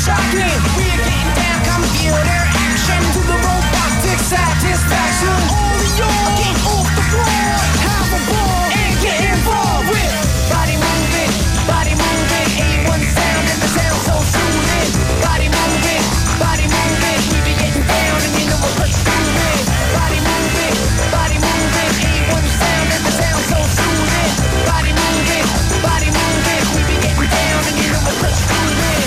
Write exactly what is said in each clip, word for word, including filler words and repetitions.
shocking. We're getting down, computer action to the robotic satisfaction. All yours, get off the floor, have a ball, and get involved with body moving, body moving. A one sound and the sound so soothing. Body moving, body moving. We be getting down and you know we're pursuing. Body moving, body moving. A one sound and the sound so soothing. Body moving, body moving. We be getting down and you know we're pursuing.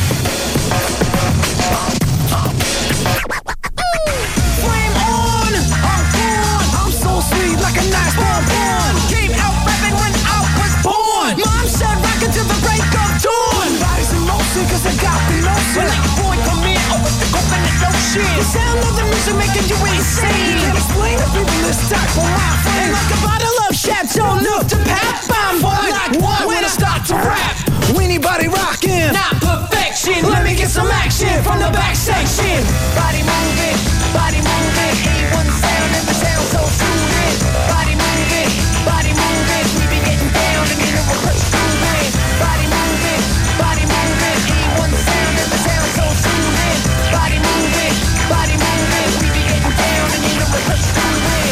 Flame on, I'm born. I'm so sweet like a nice bonbon. Came out rapping when I was born. Mom said rock until the break of dawn. Body's in motion cause I got the notion. When like boy come in, oh with the coconut ocean. The sound of the music making you insane. Can't explain the people this type of my friend. Like a bottle of Chateau Neuf to Pap. I'm born like one when I start to rap. Anybody rockin', not perfection. Let me get some action from the back section. Body moving, body moving. A one sound and the sound so soothing. Body moving, body moving. We be getting down and you know we're pursuing. Body moving, body moving. A one sound and the sound so soothing. Body moving, body moving. We be getting down and you know we're pursuing.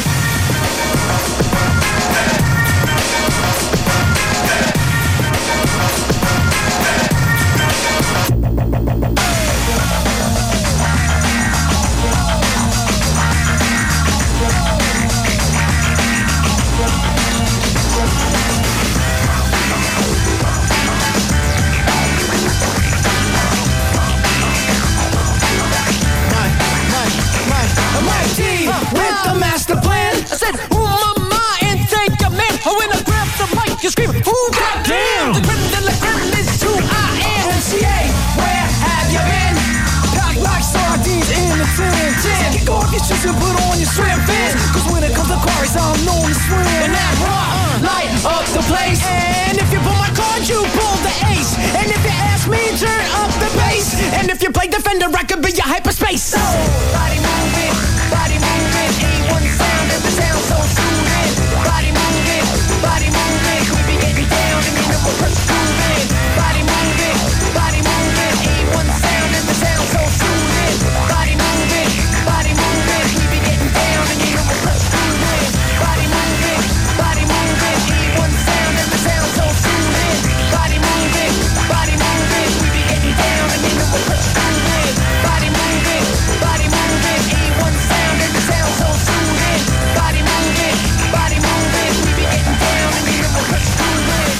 With the master plan, I said, ooh, mama, and take a man. Oh, when I grab the mic, you scream, ooh, goddamn. The creme de la creme is who I am. M C A, where have you been? Packed like sardines in a tin tin. Kick off your shoes and put on your swim fins. Cause when it comes to quarries, I'm known to swim. And that rock, light up the place. And if you pull my card, you pull the ace. And if you ask me, turn up the bass. And if you play defender, I could be your hyperspace. So, body moving, body moving. A one sound and the sound so soothing. Body moving, body moving. We be getting down and you know we're pursuing. Body moving, body moving. A one sound and the sound so soothing. Body moving, body moving. We be getting down and you know we're pursuing. Body moving, body moving. A one sound and the sound so soothing. Body moving, body moving. We be getting down and you know we're pursuing. Body moving, body moving. A one sound and the sound so soothing. Body moving, body moving. We be getting down and you know we're pursuing.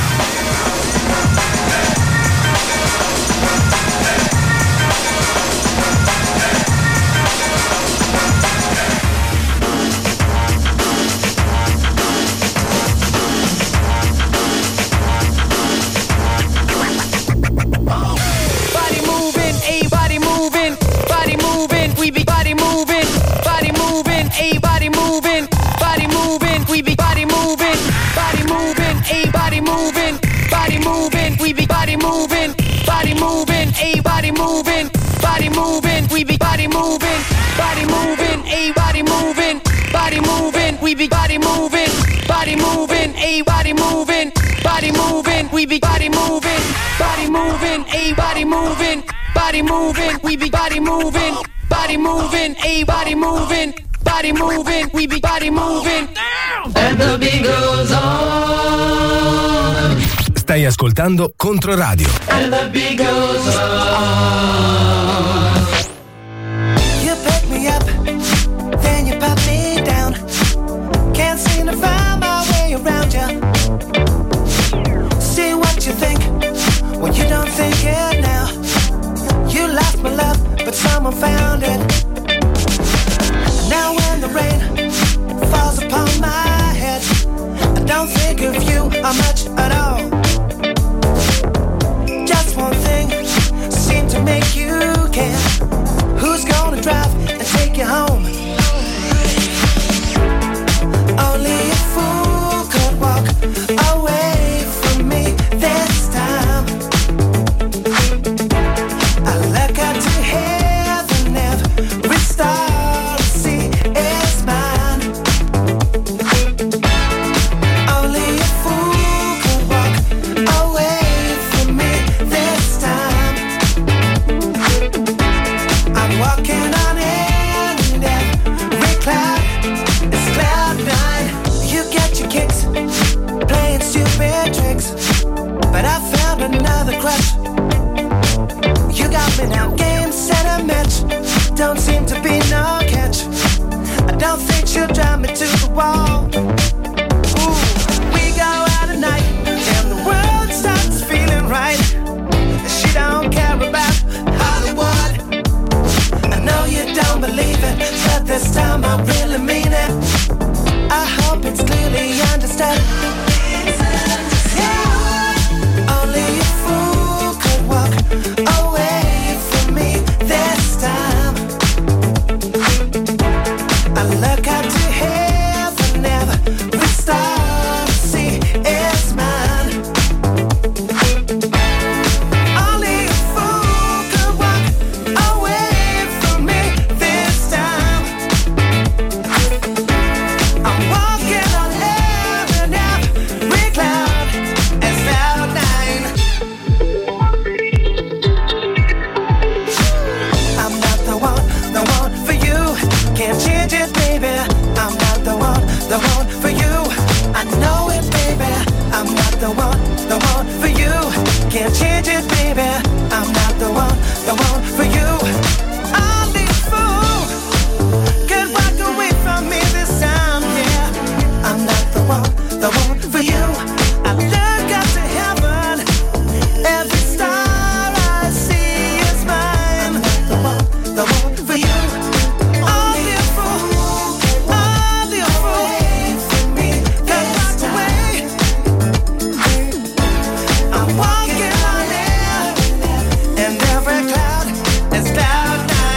Body moving, a body moving, body moving, we be body moving, body moving, a body moving, body moving, we be body moving, body moving, a body moving, body moving, we be body moving, body moving, a body moving, body moving, we be body moving, body moving, a body moving, body moving, we be body moving, body moving, a body moving, body moving, we be body moving, body moving, a body moving, body moving, we be body moving, body moving, a body moving, body moving, we be body moving. And the beat goes on. Stai ascoltando Controradio. And the beat goes on. You pick me up, then you pop me down. Can't seem to find my way around you. See what you think when you don't think it now. You lost my love, but someone found it. Now when the rain falls upon my head, I don't think of you much at all. Just one thing red cloud, it's cloud nine.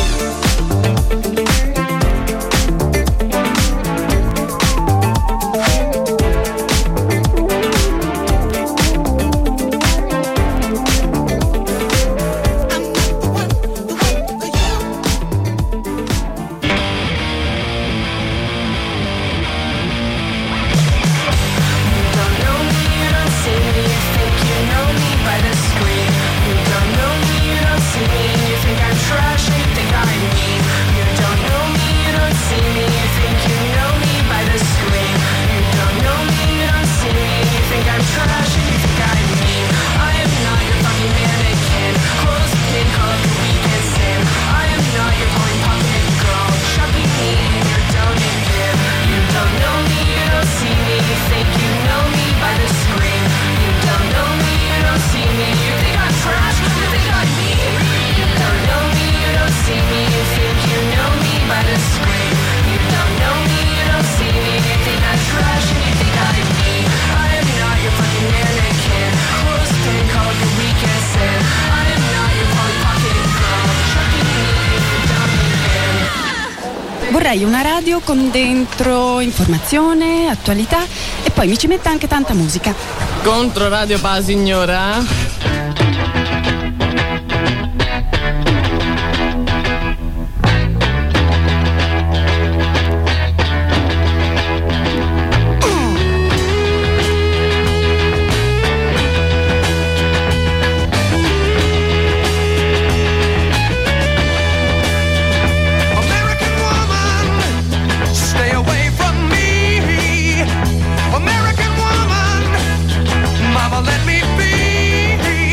Vorrei una radio con dentro informazione, attualità e poi mi ci metta anche tanta musica. Contro Radio Pa signora? American woman, mama, let me be.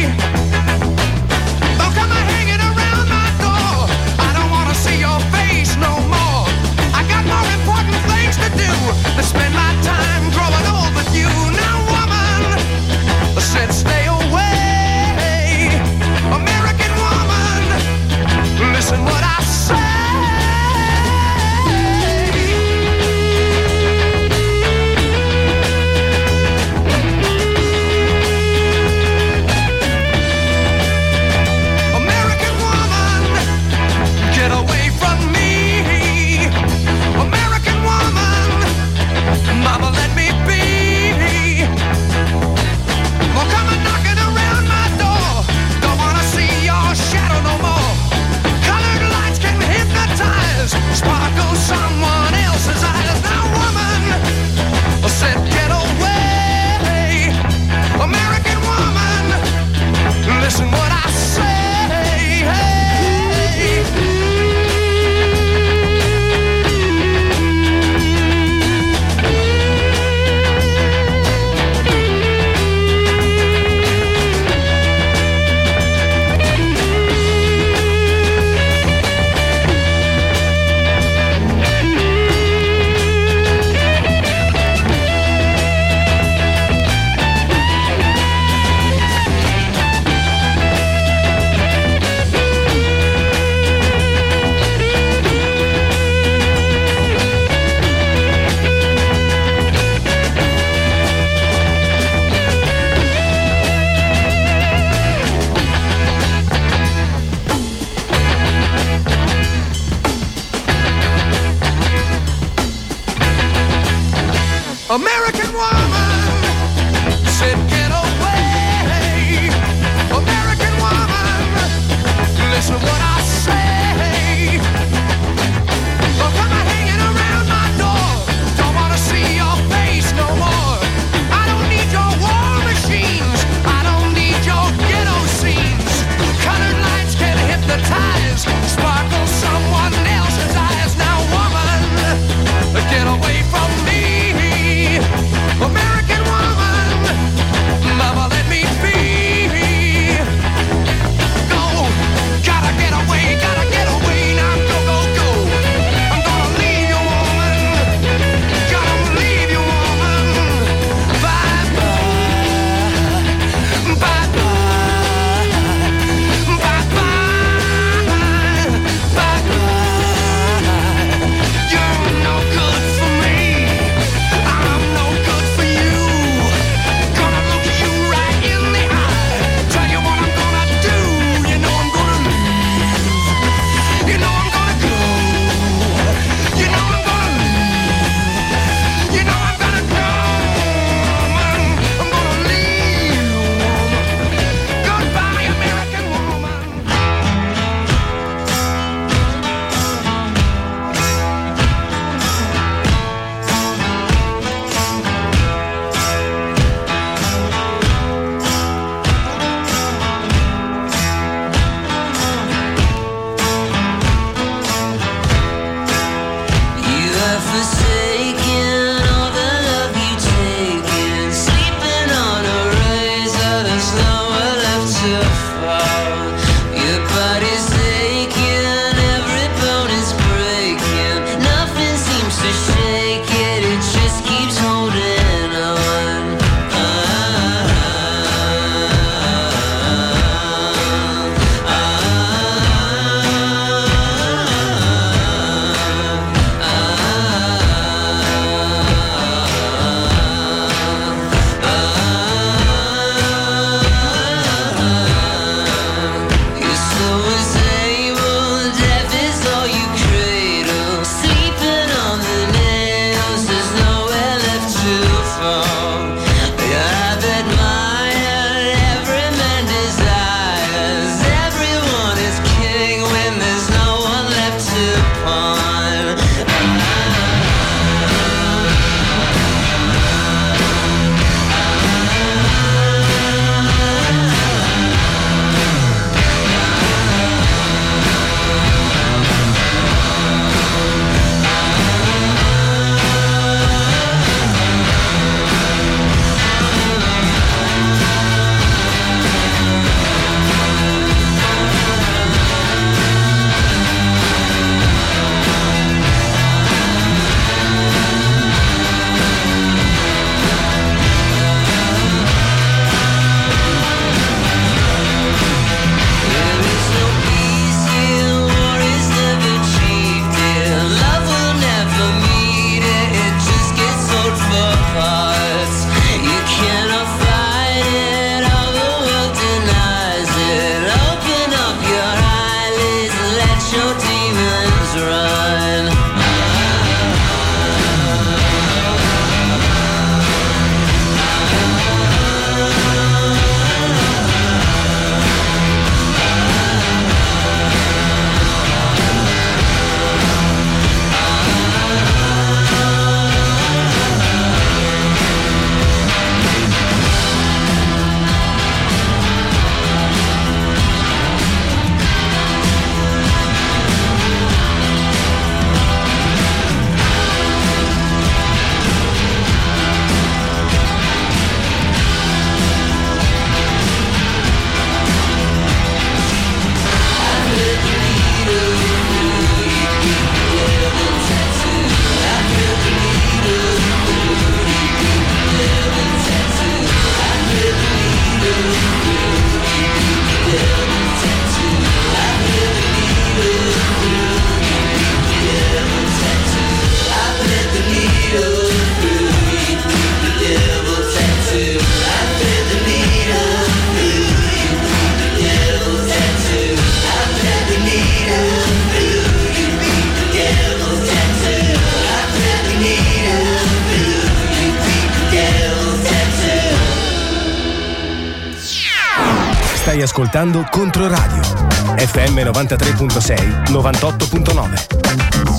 Stai ascoltando Controradio F M novantatré virgola sei, novantotto virgola nove.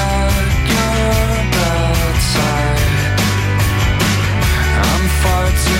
Far too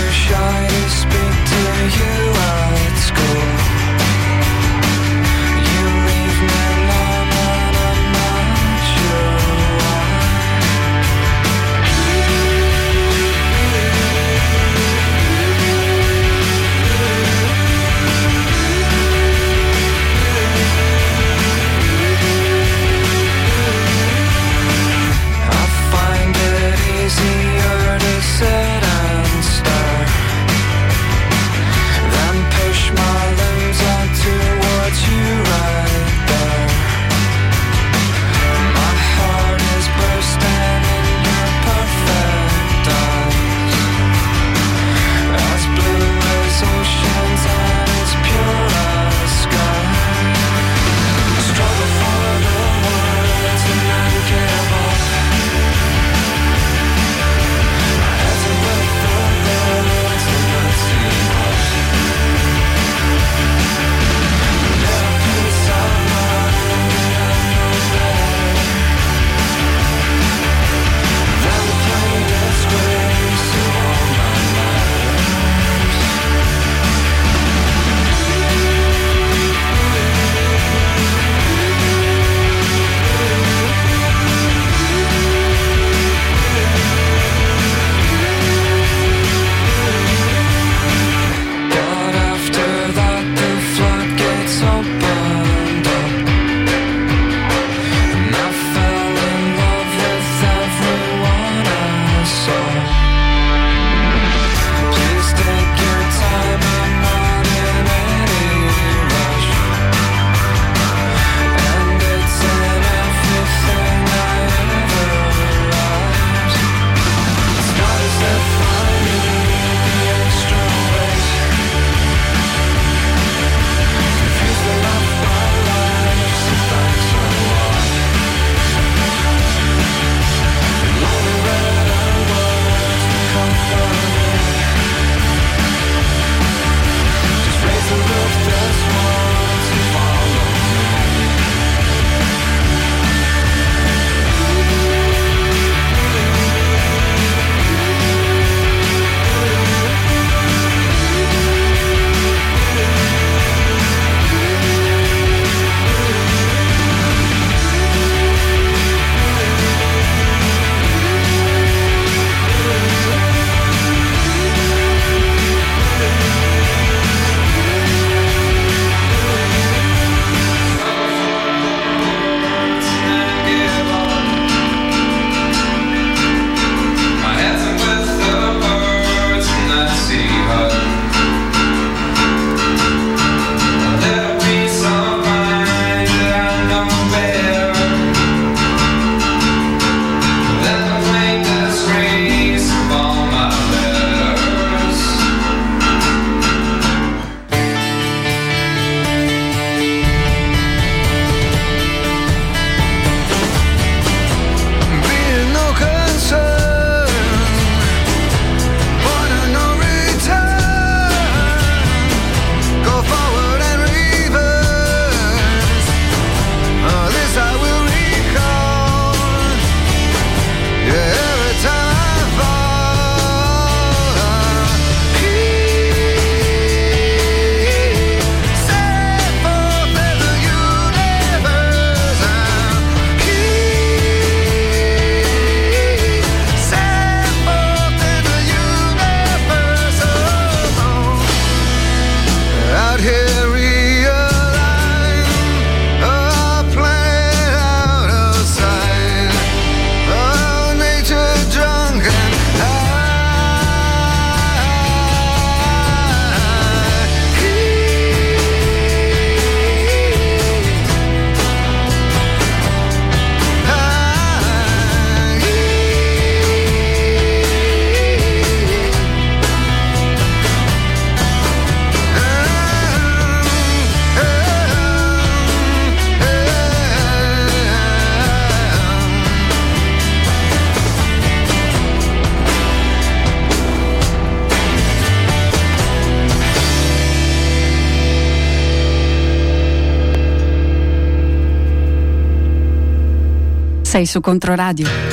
Sei su Controradio.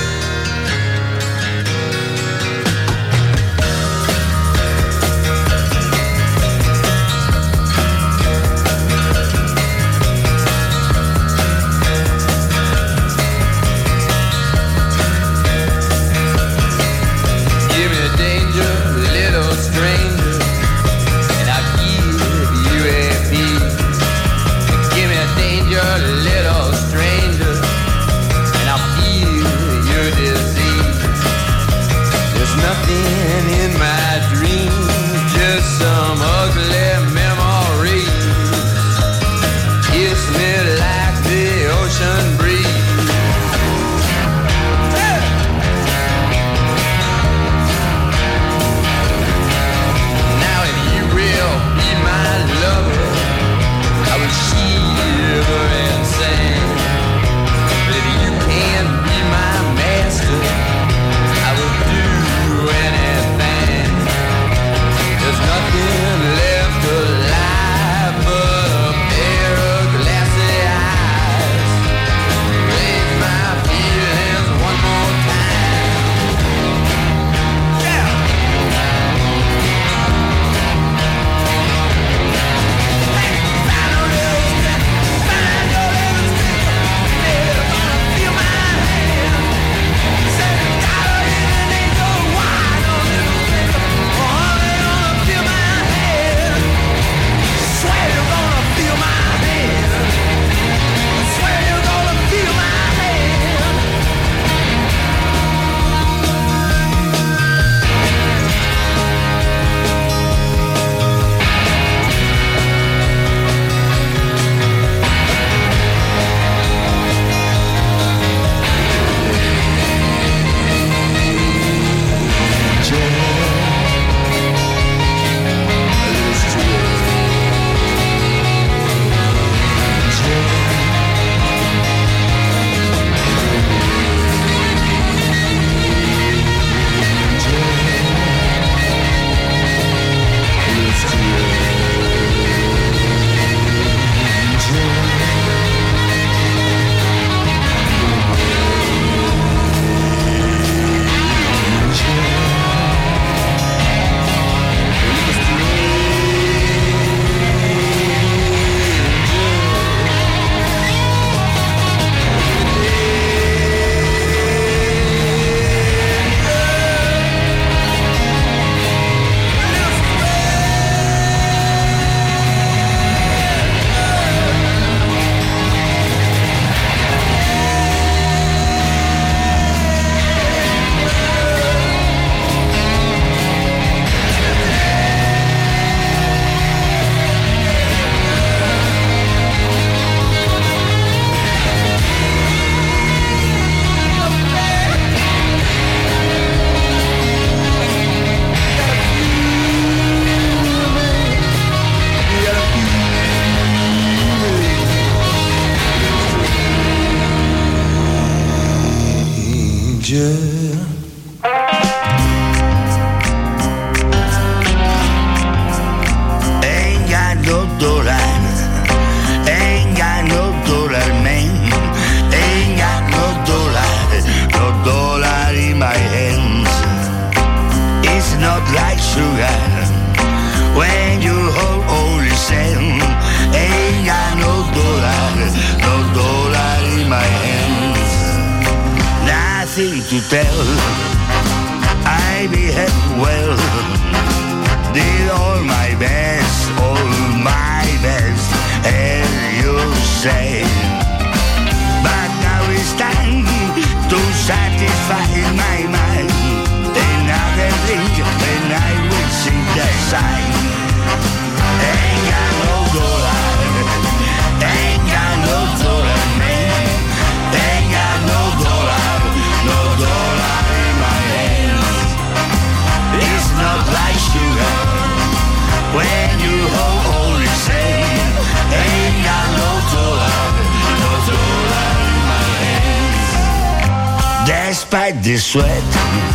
Despite the sweat,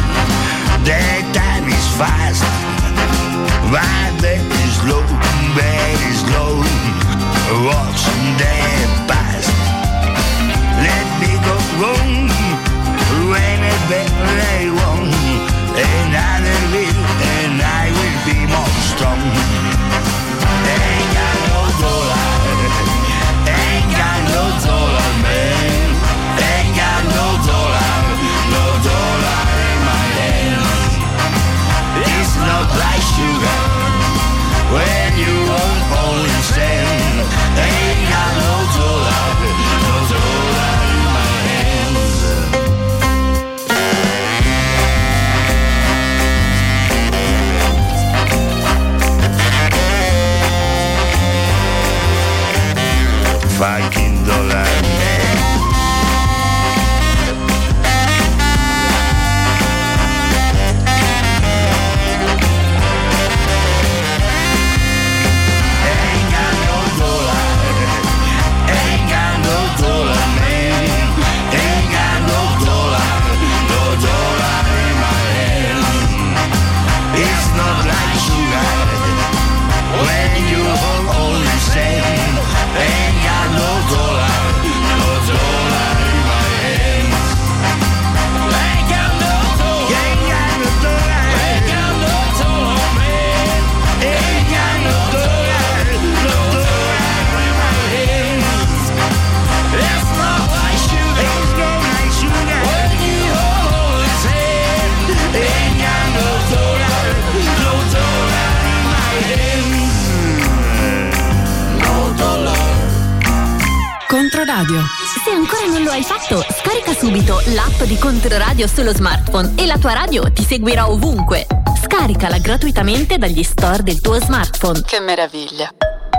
the time is fast. But very slow, very slow. Watch the past. Let me go wrong. bet they won't. And I will, and I will be more strong. Ain't got no dollar, ain't got no dollar, man. Ain't got no dollar, no dollar in my hands. It's not like sugar when you won't only stand. Ain't got no dollar, no dollar in my hands. Fucking dollar man. Ain't got no dollar, ain't got no dollar man. Ain't got no dollar, no dollar in my hand. It's not like sugar when you only sand. Ain't got no dollar, no dollar in my hands. Ain't got no dollar, ain't got no dollar, ain't got no dollar, man. Ain't got no dollar, no dollar in my hands. It's not like sugar, it's not like sugar when you hold his hand. Ain't got no dollar, no dollar in my hands. No dollar. Controradio. Se ancora non lo hai fatto, scarica subito l'app di Controradio sullo smartphone e la tua radio ti seguirà ovunque. Scaricala gratuitamente dagli store del tuo smartphone. Che meraviglia.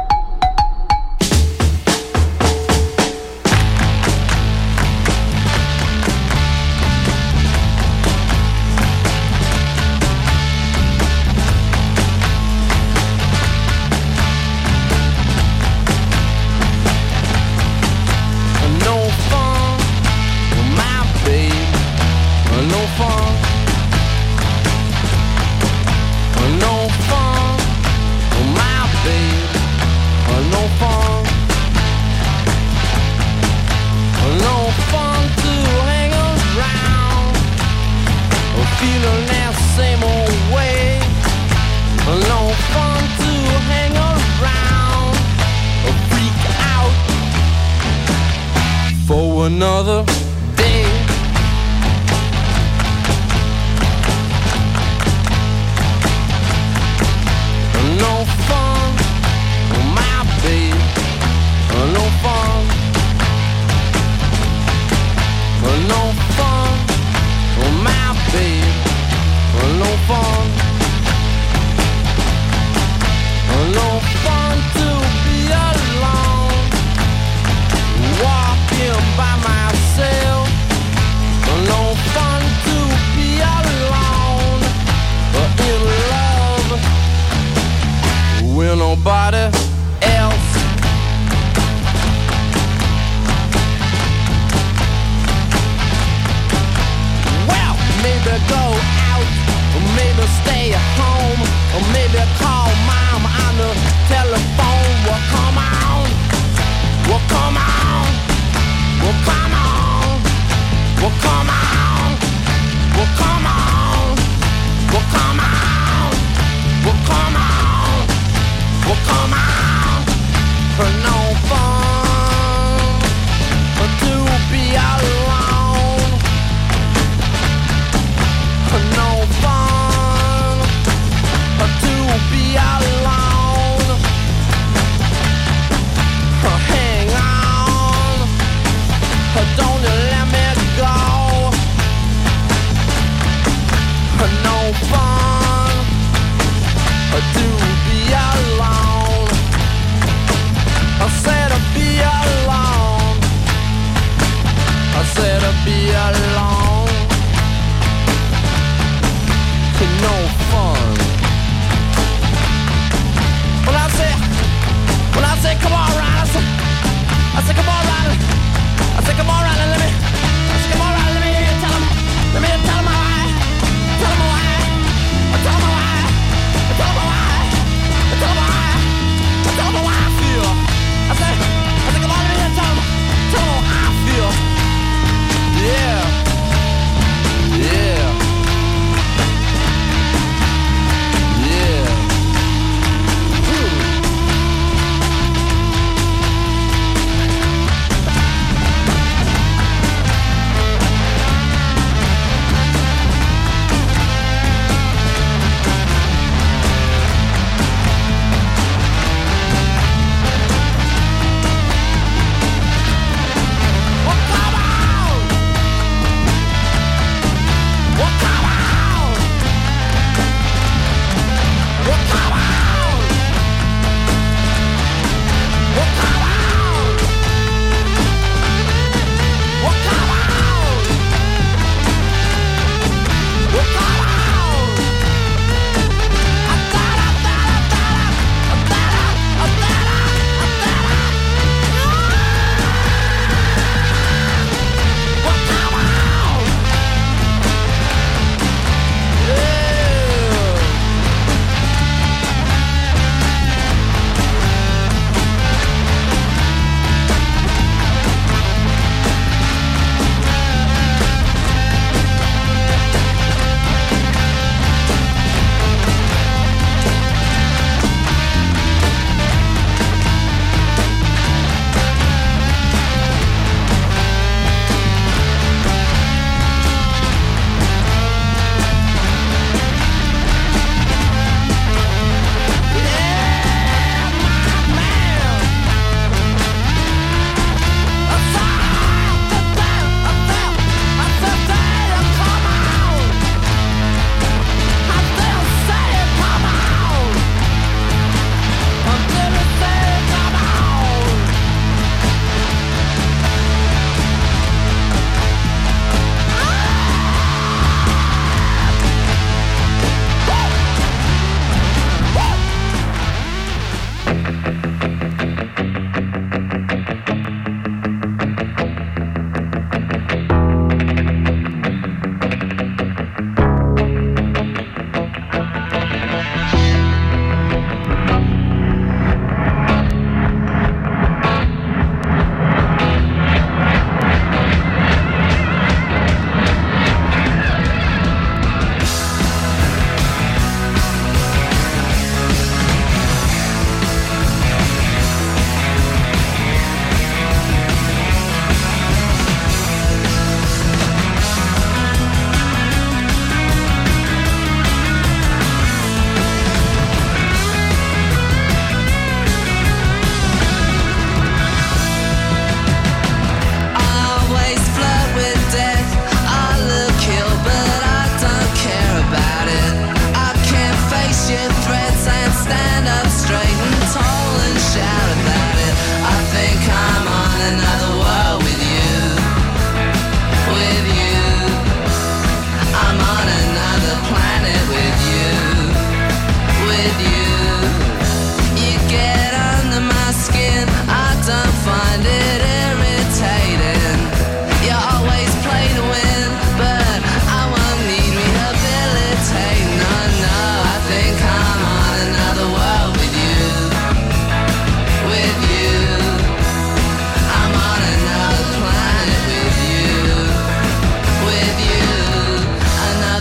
Another day. No fun, my babe. No fun. No fun, my babe. No fun. No fun to be alone, walking by myself. No fun to be alone, but in love with nobody else. Well, maybe go out, or maybe stay at home, or maybe call mom on the telephone. Well, come on, well, come on, well, come on, well, come on, well, come on, well, come on, well, come on, well, come on. For no fun to be alone. For no fun to be alone. Hang on, don't you let me go. No fun to be alone. I said to be alone. I said to be alone. No fun. When I say, when I say come on, Ryan, I say, I say come on, Ryan. I say come on, Ryan, let me, I say come on, Ryan, let me hear you tell him, let me hear you tell him how I, tell him how I,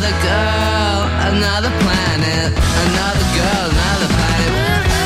another girl, another planet, another girl, another planet.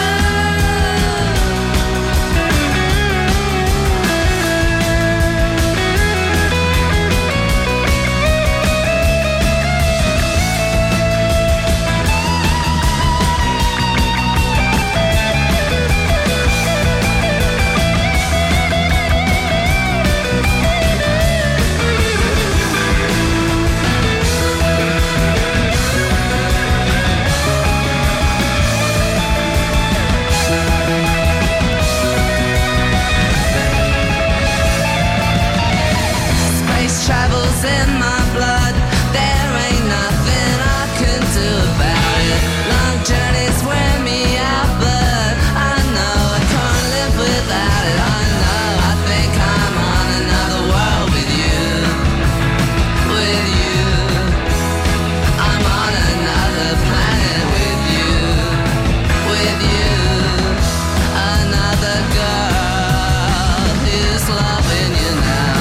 Travels in my blood, there ain't nothing I can do about it. Long journeys wear me out, but I know I can't live without it. I know, I think I'm on another world with you, with you. I'm on another planet with you, with you. Another girl who's loving you now.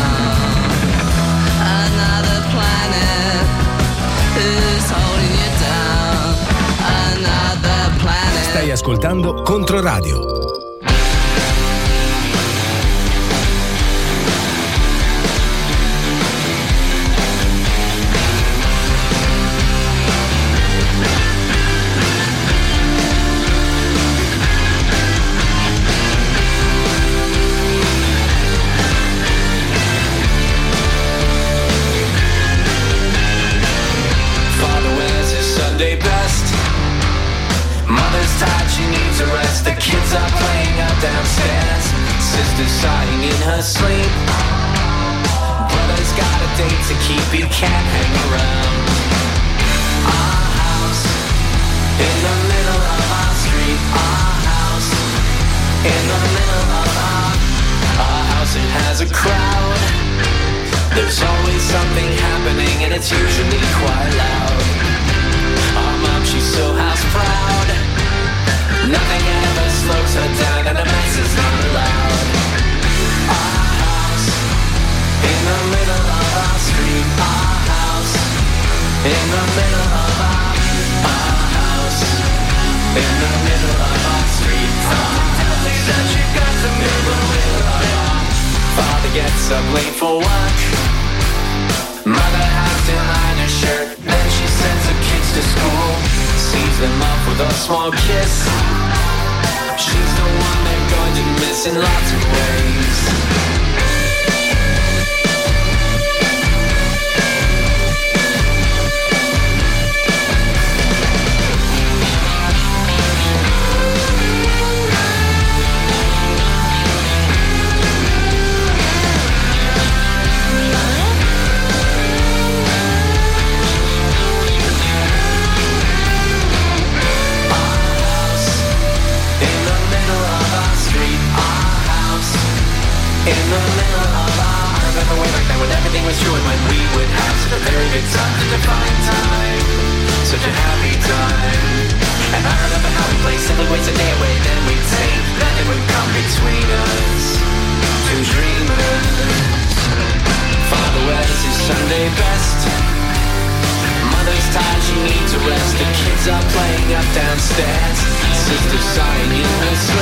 Another planet who's holding you down. Another planet. Stai ascoltando Controradio. Sunday best. Mother's tired, she needs a rest. The kids are playing up downstairs. Sister's sighing in her sleep. Brother's got a date to keep, he can't hang around. Our house, in the middle of our street. Our house, in the middle of our Our house, it has a crowd. There's always something happening and it's usually quite loud. Our mom, she's so house proud. Nothing ever slows her down and a mess is not allowed. Our house, in the middle of our street. Our house, in the middle of our Our house, in the middle of our street. Something tells me that she got the middle of our Father gets up late for work. Mother has to iron her shirt. Then she sends her kids to school, sees them off with a small kiss. She's the one they're going to miss in lots of ways. In the middle of our I remember way back then when everything was true and when we would have such a very good time, such a fine time, such a happy time. And I remember how we played simple ways a day away, then we'd say nothing would come between us. Two dreamers. Father wears his Sunday best. Mother's tired, she needs a rest. The kids are playing up downstairs. Sister's sighing in her sleep.